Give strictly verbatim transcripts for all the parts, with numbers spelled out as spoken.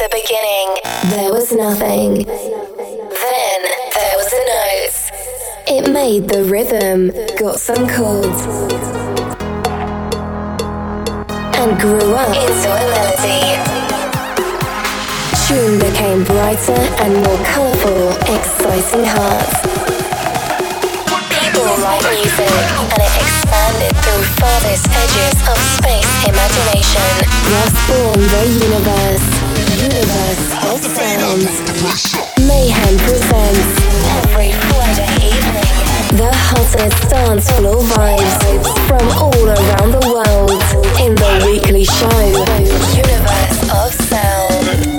the beginning, there was nothing. Then there was a note. It made the rhythm, got some chords, and grew up into a melody. Tune became brighter and more colourful, exciting hearts. People write music, and it expanded through farthest edges of space imagination. Thus born the universe, universe of sounds. Mayhem presents every Friday evening the hottest dance floor vibes from all around the world in the weekly show, Universe of Sound.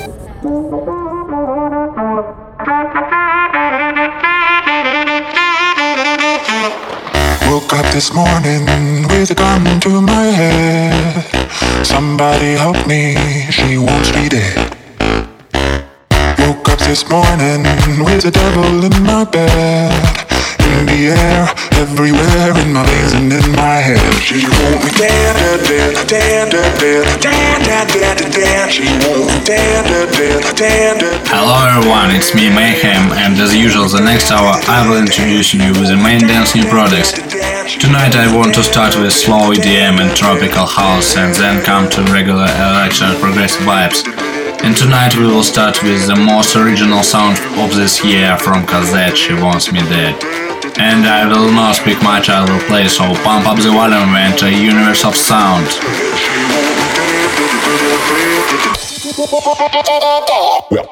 Woke up this morning with a gun to my head. Somebody help me, she wants me dead. Woke up this morning with the devil in my bed. In the air, everywhere, in my veins and in my head. She won't me dead, dead, dead, dead, dead, dead, dead, dead, dead. She won't me dead, dead, dead, dead. Hello everyone, it's me Mayhem, and as usual the next hour I will introduce you with the main dance new products. Tonight I want to start with slow E D M and tropical house and then come to regular electro and progressive vibes. And tonight we will start with the most original sound of this year from Cosette, She Wants Me Dead. And I will not speak much, I will play, so pump up the volume and enter Universe of Sound. Well.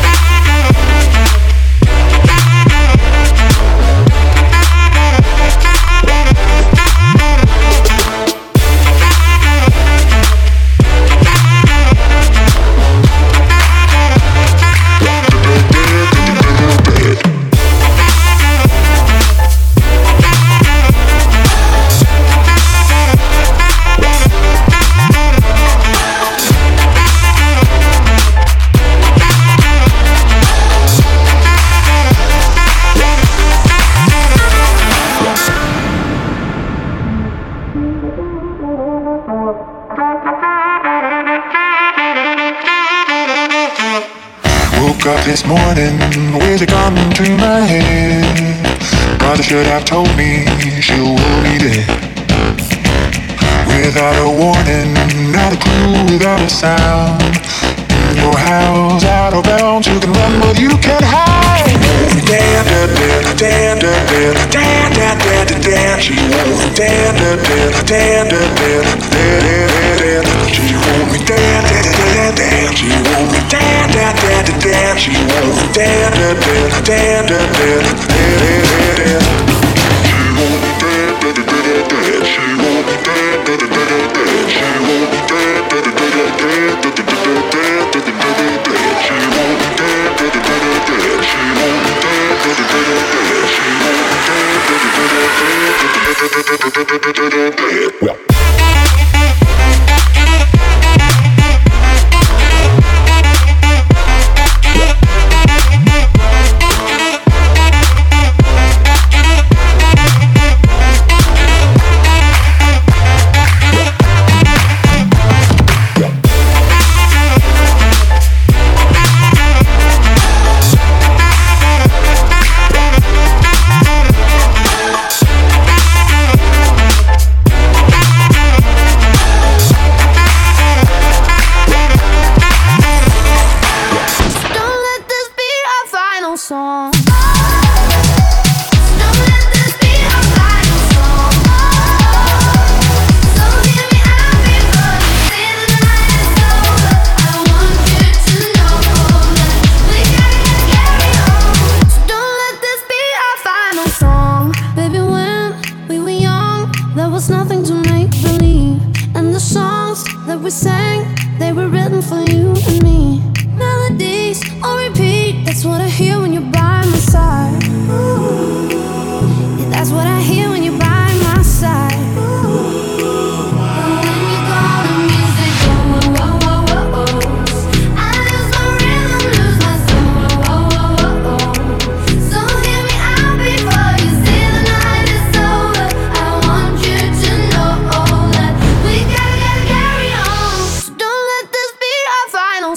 Up this morning with a gun to my head. Mother should have told me she will be dead. Without a warning, not a clue, without a sound. In your house, out of bounds, you can run but you can't hide. Dead, dead, dead, dead, dead, dead, dead, dead, dead. She won't be dead, dead, dead, dead, dead, dead, dead. She won't be dead, dead, dead, dead. She won't be dead, dead, dead, dead. She won't be dead, dead, dead, dead, dead, dead. She won't be dead, dead, dead, dead. She won't be dead, dead, dead, dead. She won't be dead, dead, dead, dead, dead, dead, dead, dead. She won't be dead, dead, dead, dead. She won't be dead, dead, dead, dead. She won't be dead, dead, dead, dead.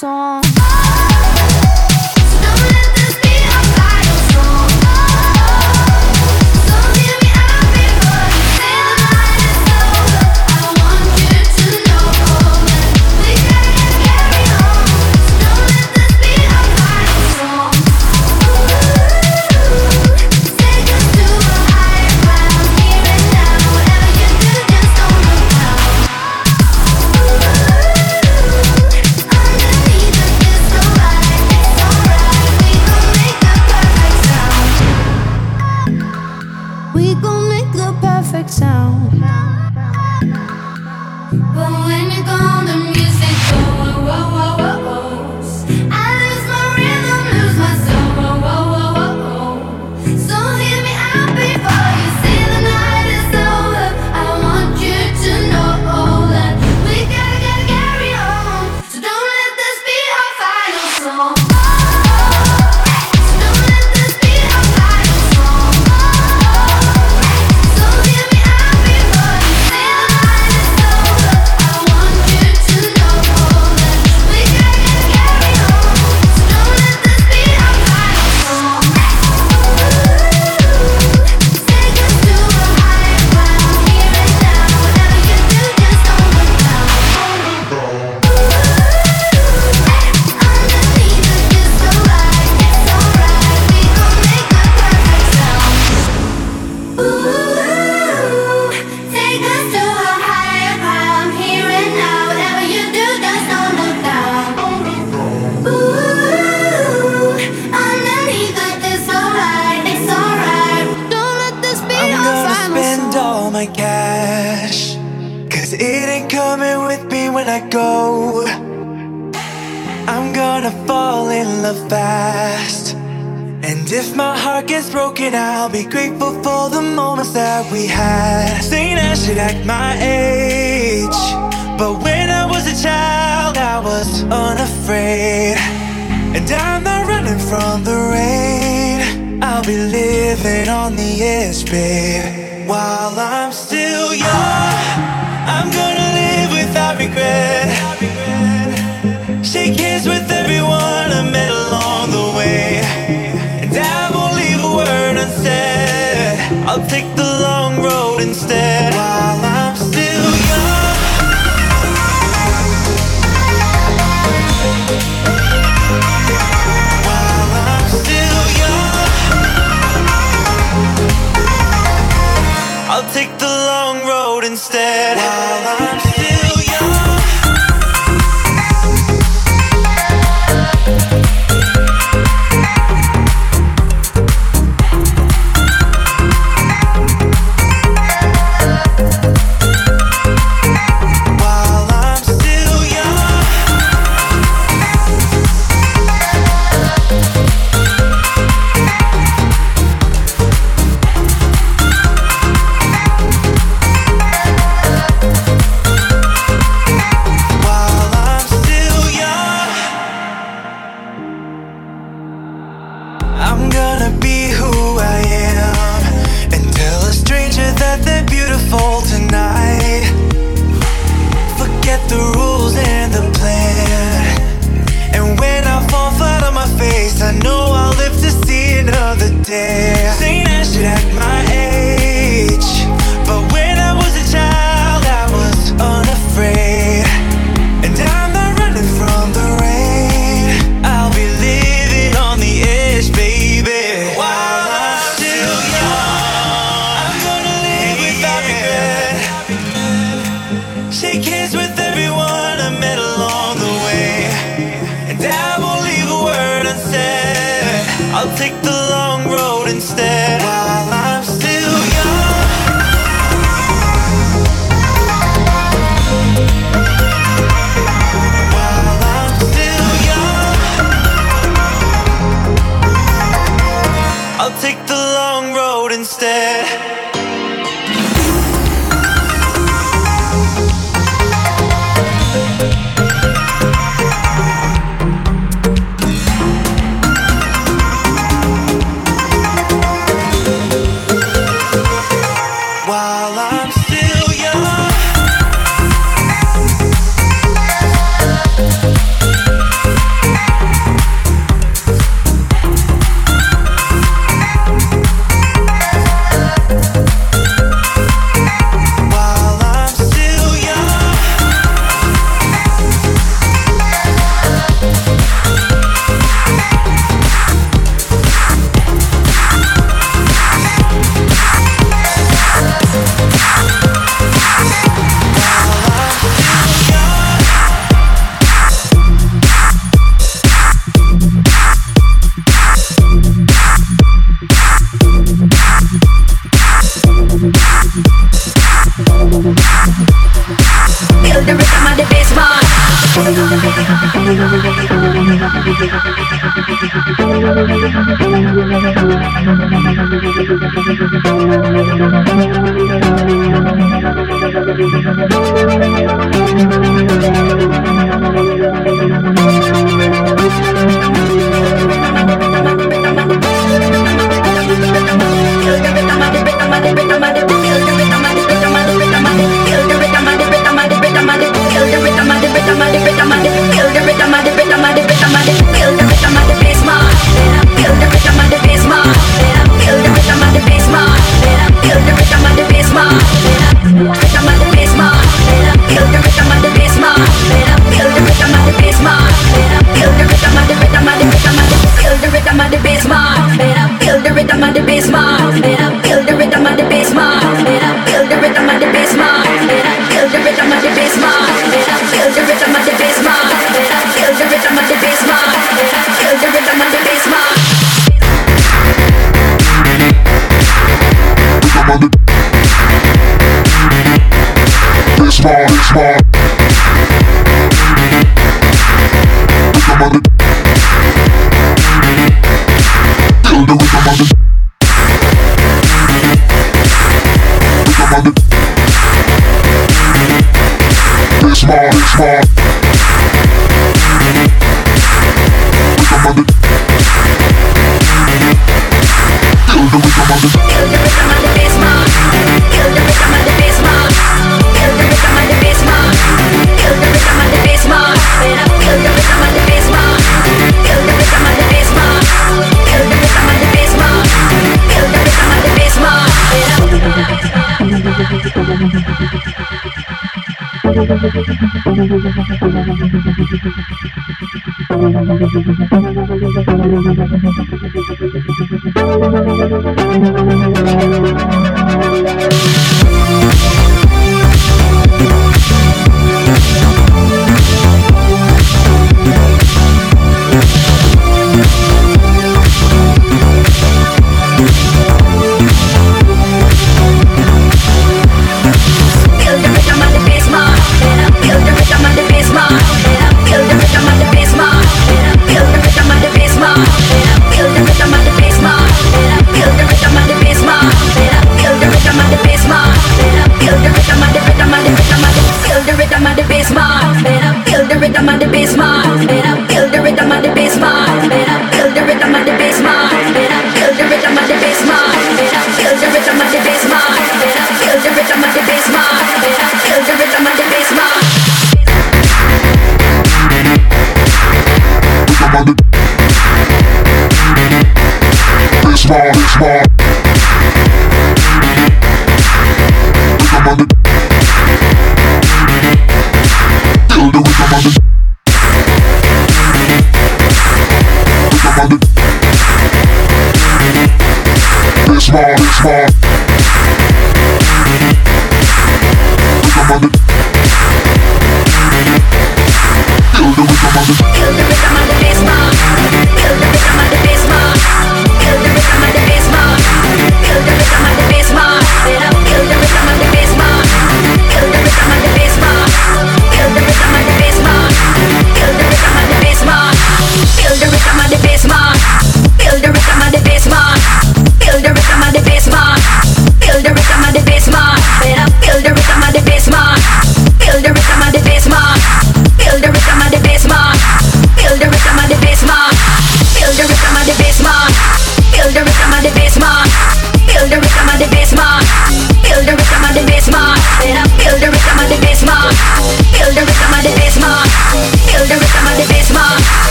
song. Sound. But when you're gone, the music goes. Whoa, whoa, whoa, whoa. I lose my rhythm, lose my soul. Whoa, whoa, whoa, whoa. So hear me out before you say the night is over. I want you to know that we gotta, gotta carry on. So don't let this be our final song. When I go, I'm gonna fall in love fast. And if my heart gets broken, I'll be grateful for the moments that we had. Saying I should act my age, but when I was a child, I was unafraid. And I'm not running from the rain. I'll be living on the edge, babe. While I'm still young, I'm gonna live without regret. Shake hands with everyone I met along the way. And I won't leave a word unsaid. I'll take the long road instead. While I'm still young, while I'm still young, I'll take the long road instead. While I'm still young,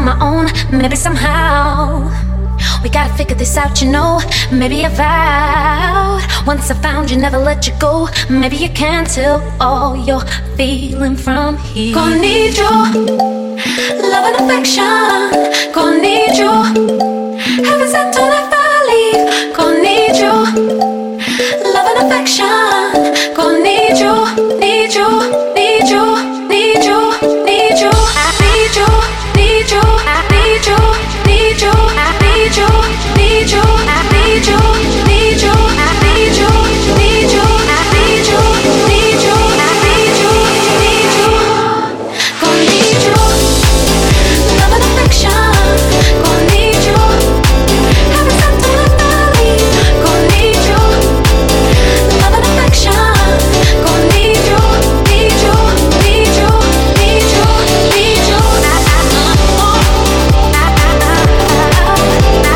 on my own, maybe somehow. We gotta figure this out, you know. Maybe I vowed once I found you, never let you go. Maybe you can't tell all you're feeling from here. Gonna need you, love and affection. Gonna need you, heaven sent on if I leave. Gonna need you, love and affection. Gonna need you, need you, need you, need you, need you. I need you, need you, I need you, need you, I need you, need you, I need you, need you, I need you, need you, I need you, need you, I need you, need you. Gonna need you, love and affection. Gonna need you, heaven sent on a valley. Gonna need you, love and affection. Gonna need you, need you, need you, need you, need you. I, I, oh, I, I, I, I,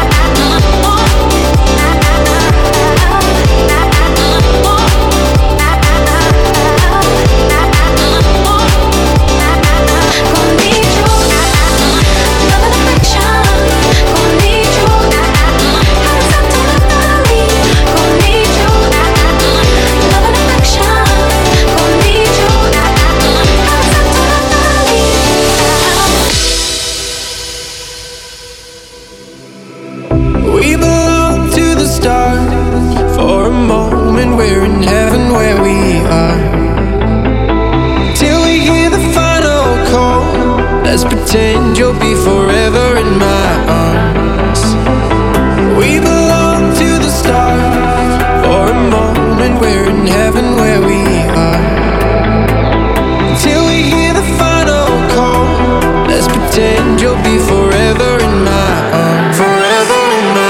We belong to the stars. For a moment we're in heaven where we are. Till we hear the final call. Let's pretend you'll be forever in my arms. We belong to the stars. For a moment we're in heaven where we are. Till we hear the final call. Let's pretend you'll be forever in my arms. Forever in my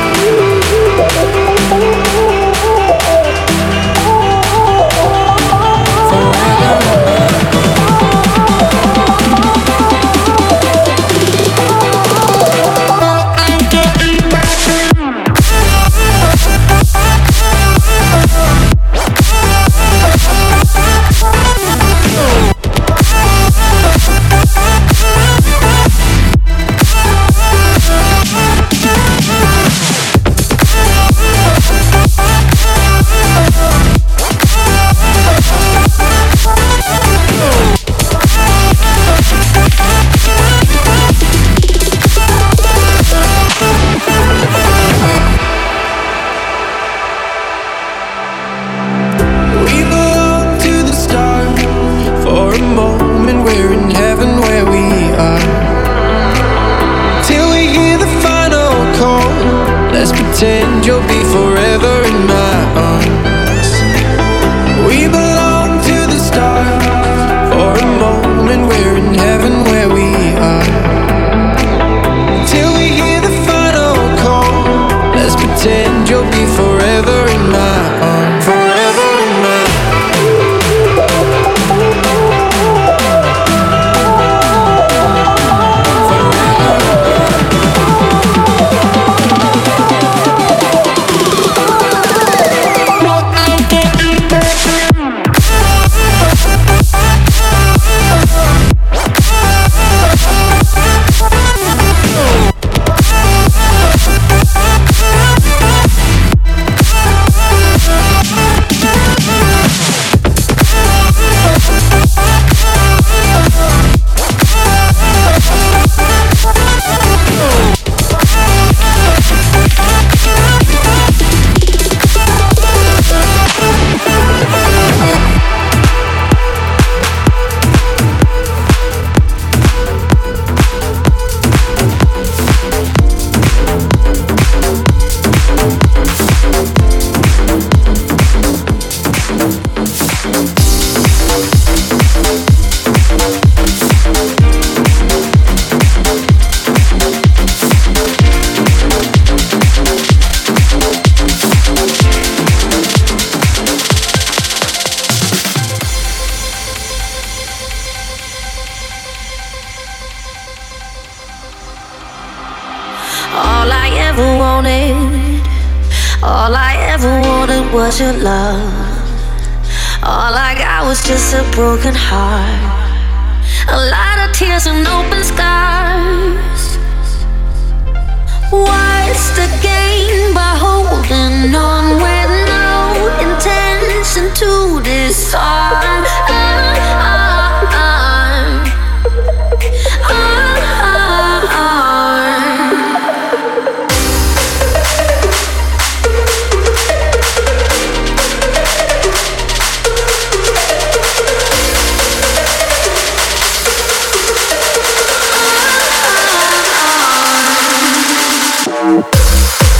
pretend you'll be forever in my arms. We belong to the stars. For a moment we're in heaven where we are. Till we hear the final call. Let's pretend you'll be forever in my arms. Forever in my all I ever wanted, all I ever wanted was your love. All I got was just a broken heart, a lot of tears and open scars. What's the gain by holding on with no intention to disarm? We'll be right back.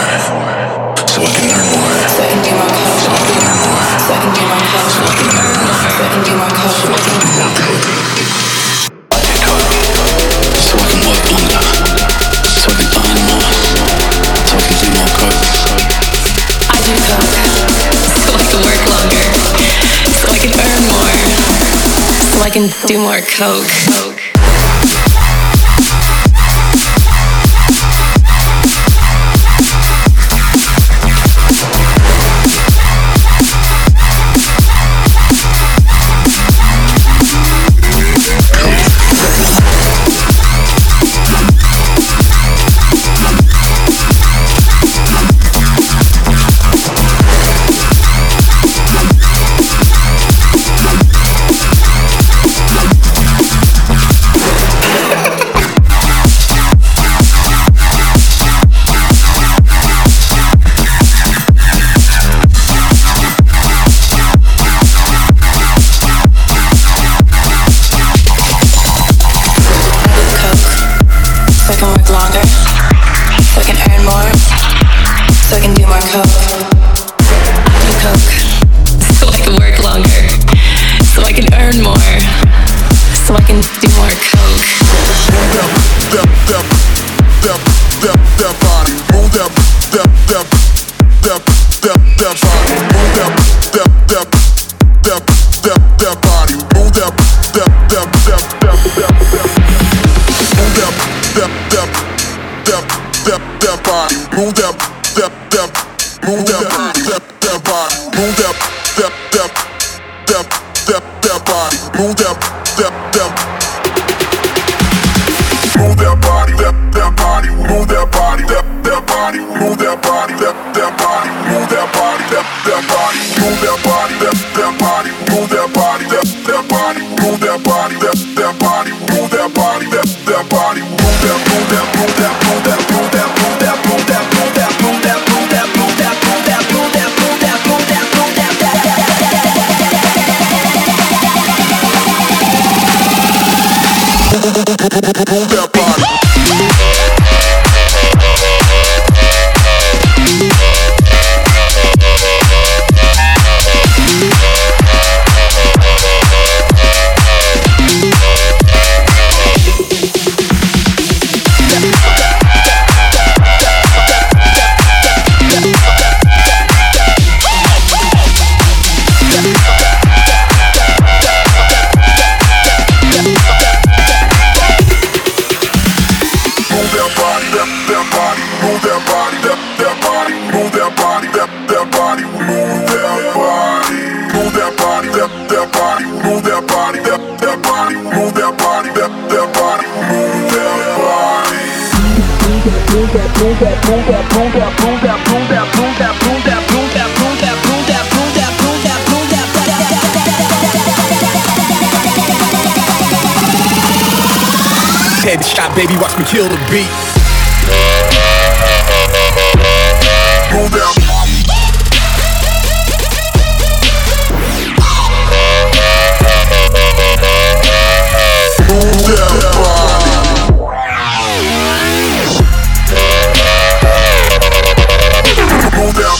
so I can learn more. So I can do more code. So I can learn more. So I can do more code. So I can learn more. So I can do more code. So I can do more code. I do code, so I can work longer. So I can earn more. So I can do more code. I do code, so I can work longer. So I can earn more. So I can do more coke. Headshot, baby, watch me kill the beat. Move down. Move down, body. Move down.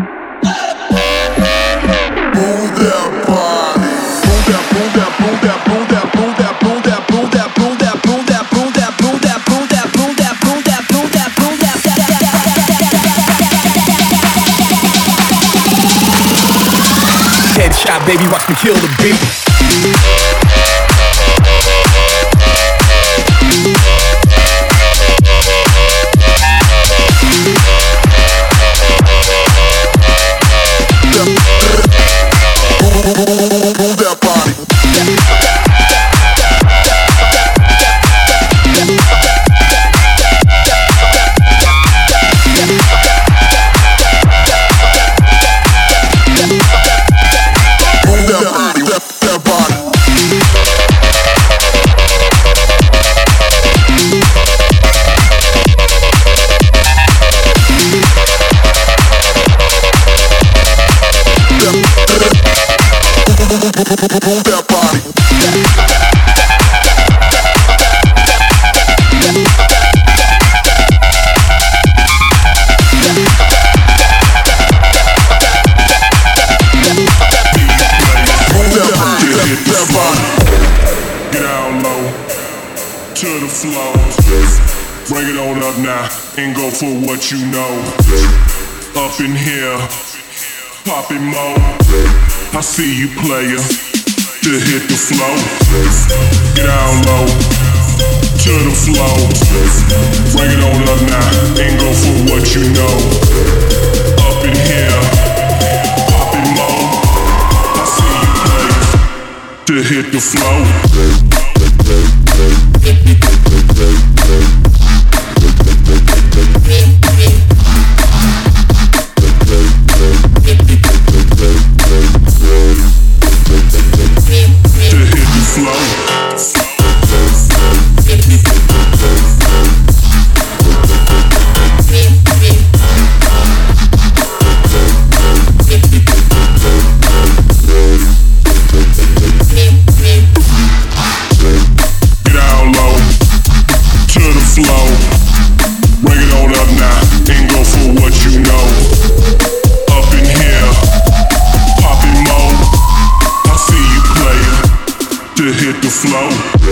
Move that body, move that, move that, move that, move that. baby, watch me kill the beat. Move that body. Move that body. Get down low to the floor. Bring it on up now and go for what you know. Up in here, poppin' more. I see you, player, to hit the flow. Get down low to the flow. Bring it on up now and go for what you know. Up in here, poppin' more. I see you, player, to hit the flow. Hit the flow.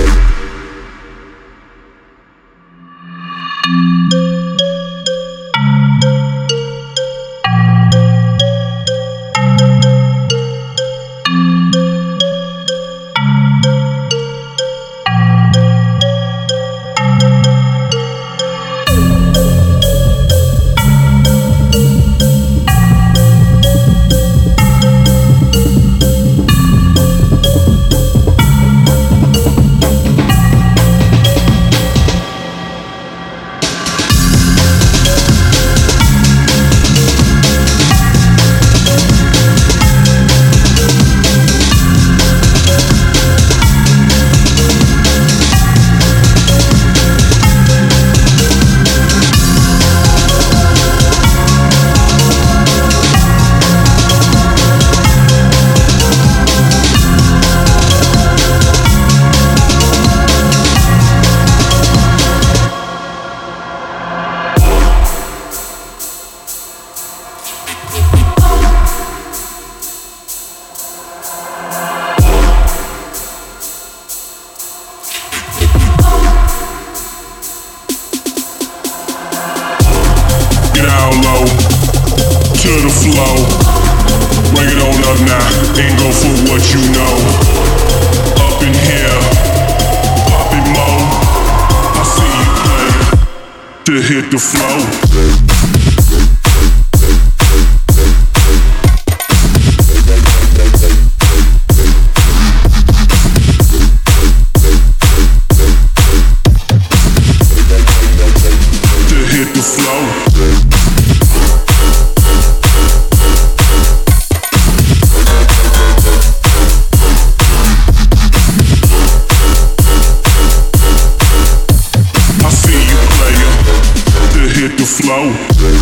To the flow, bring it on up now and go for what you know. Up in here, poppin' more. I see you, player, to hit the flow. Flow.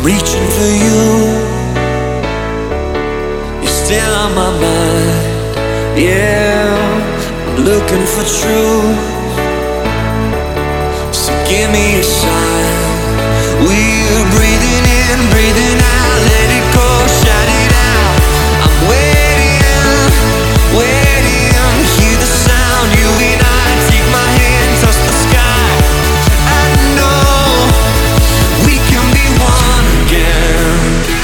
reaching for you. You're still on my mind. Yeah, I'm looking for truth. So give me a sign. We're breathing in, breathing out. Let it go, shout it out. I'm waiting, waiting. Hear the sound. You and I, take my hand, touch the sky. I know we can be one again.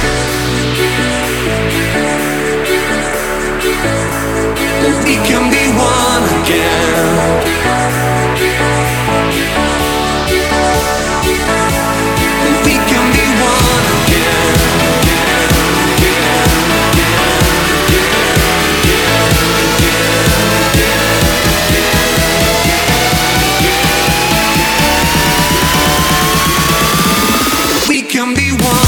We can be one again. We can be one again. We can be one.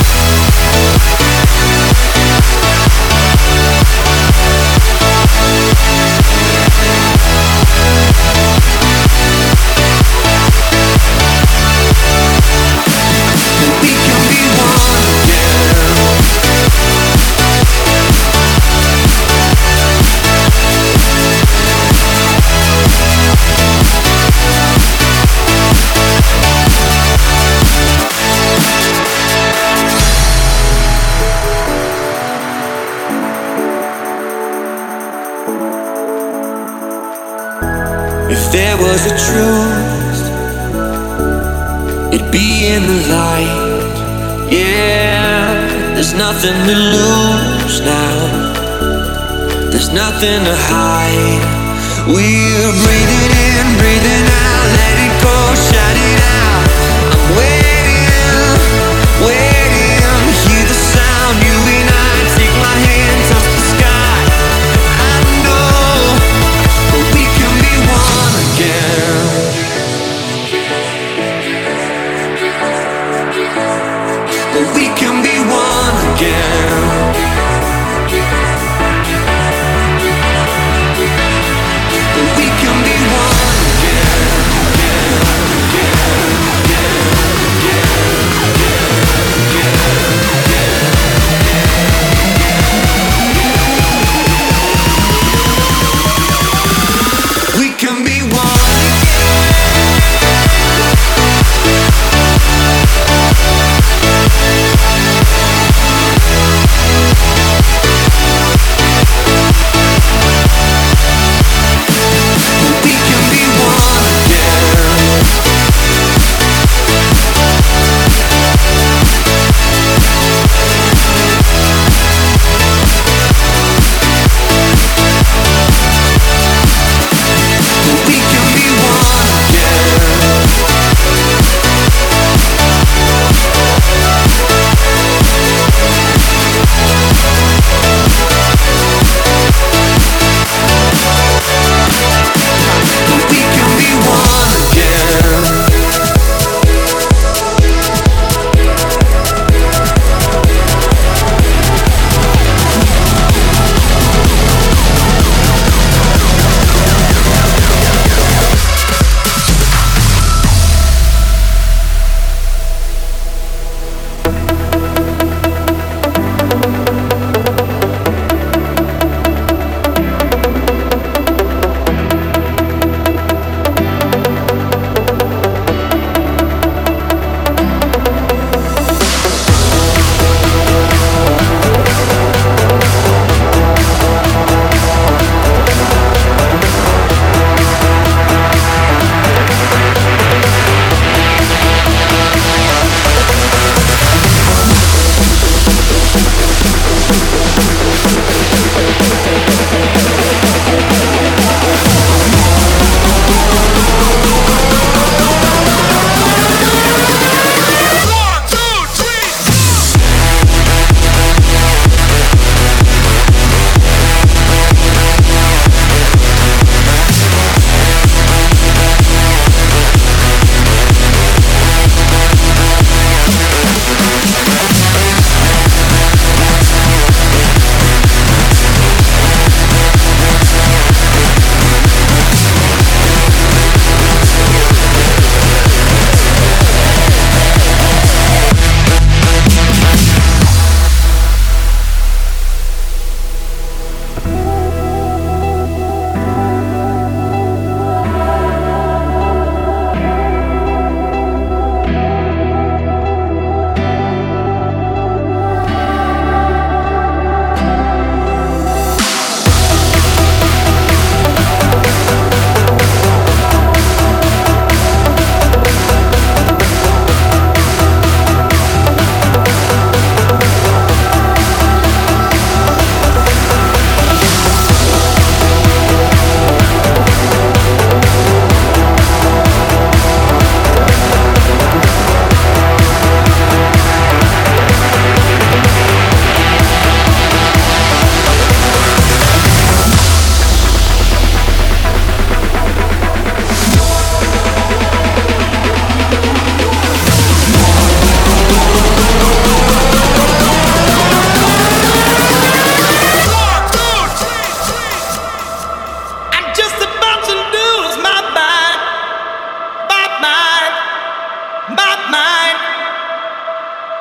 If there was a truth, it'd be in the light. Yeah, there's nothing to lose now. There's nothing to hide. We're breathing in, breathing out. Let it go, shout it out. I'm waiting, waiting. Hear the sound. You and I, take my hand, touch the sky. I know we can be one again. We can be one again. We can be one again. We can be one again.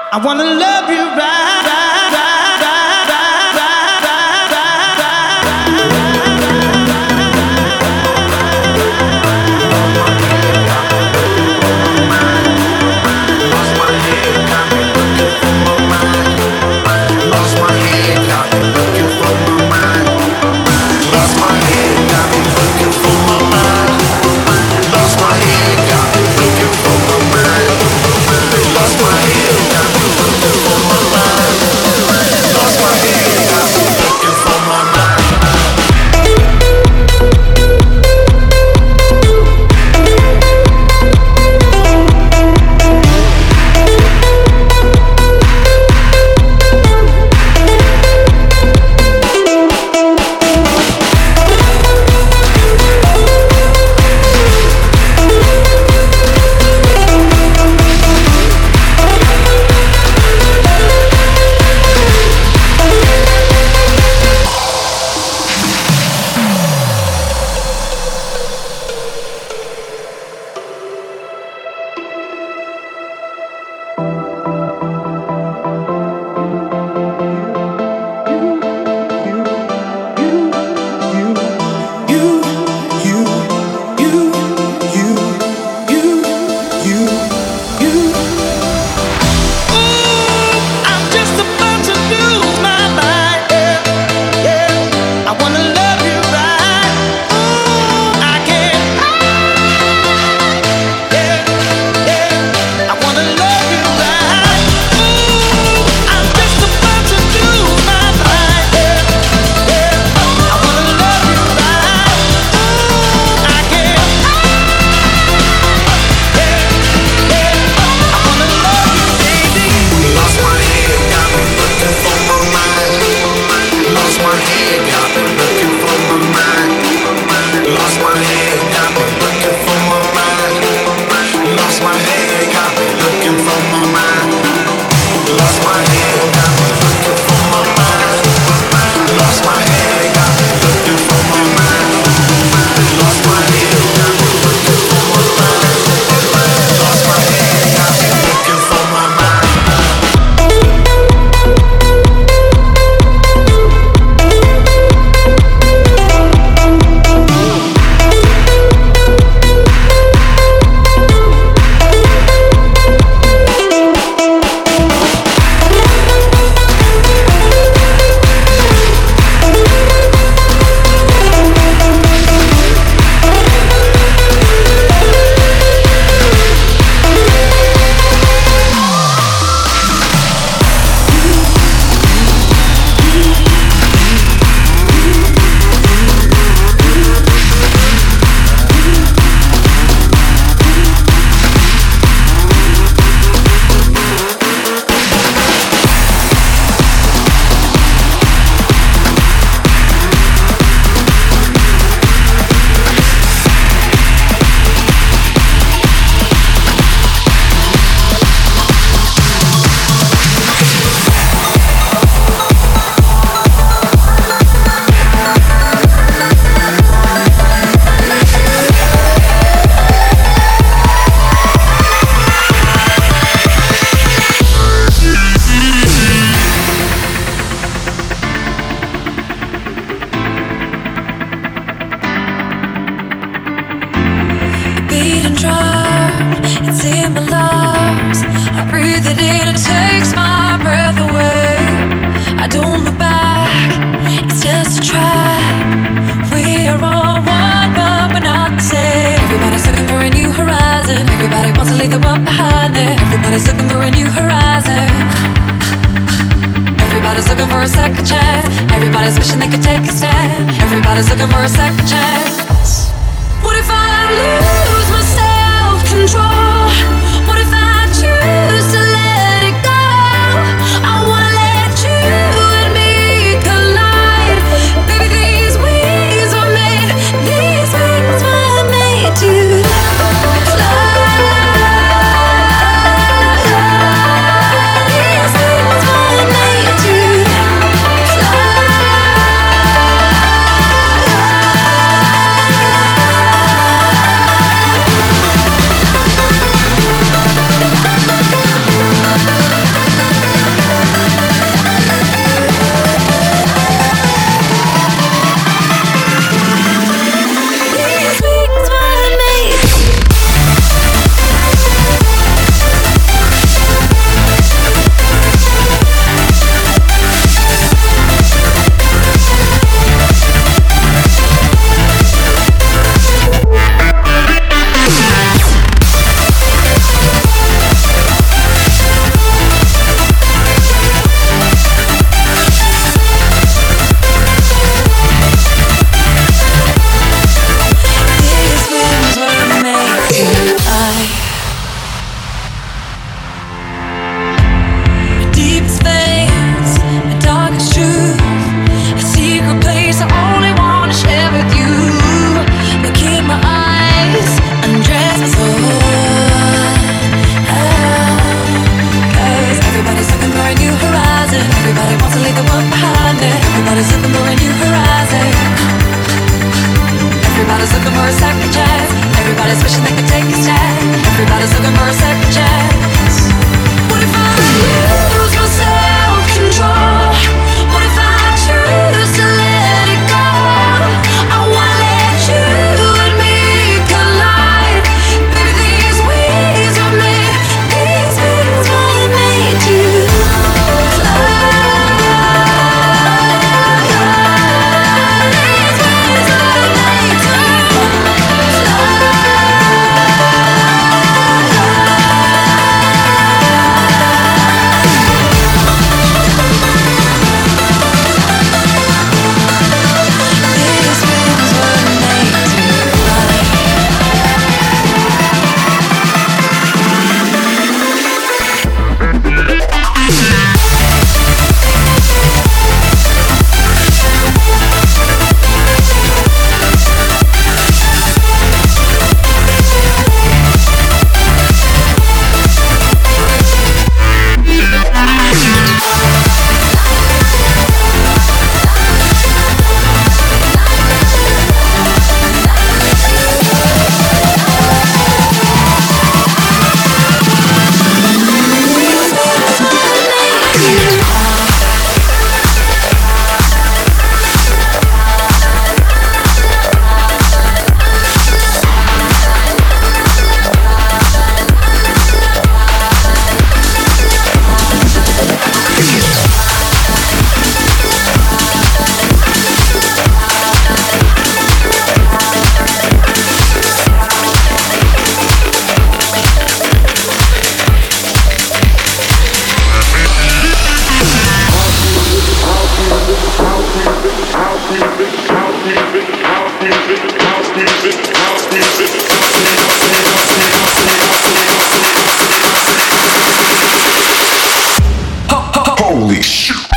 I wanna love you right, right, right, right, right, right, right, Lost my head, got me looking for my mind. Lost my head, got me looking for my mind. Lost my head, got me looking for my mind. Lost my head, got me looking for my mind. Lost my head, got me looking for my mind. Lost my head, got me looking for my mind. Holy shit.